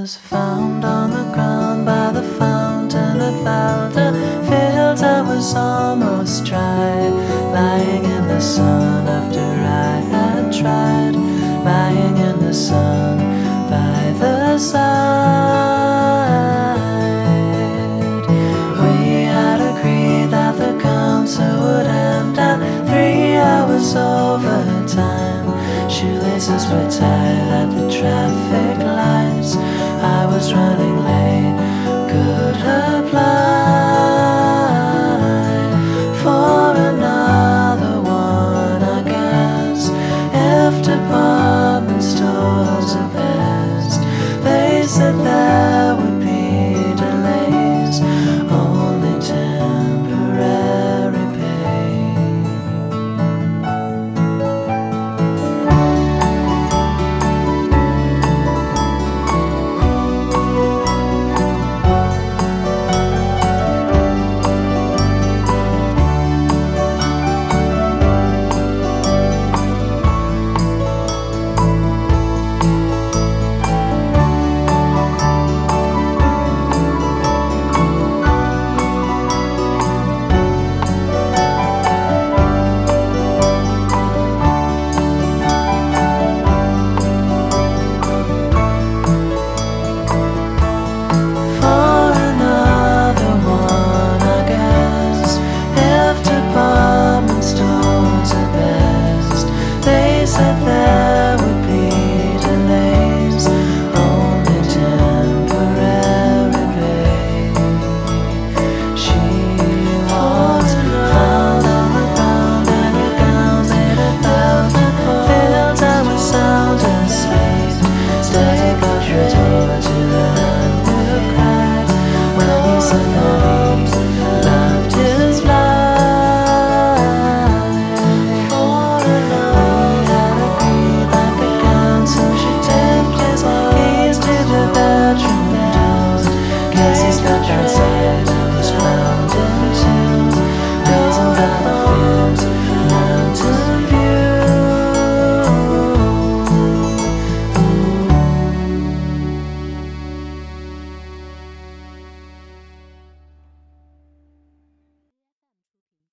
was found on the ground by the fountain at Valda Fields. I was almost dry, lying in the sun after I had tried, lying in the sun by the side. We had agreed that the concert would end at 3 hours overtime. Shoelaces were tied at the traffic lights. I was running late.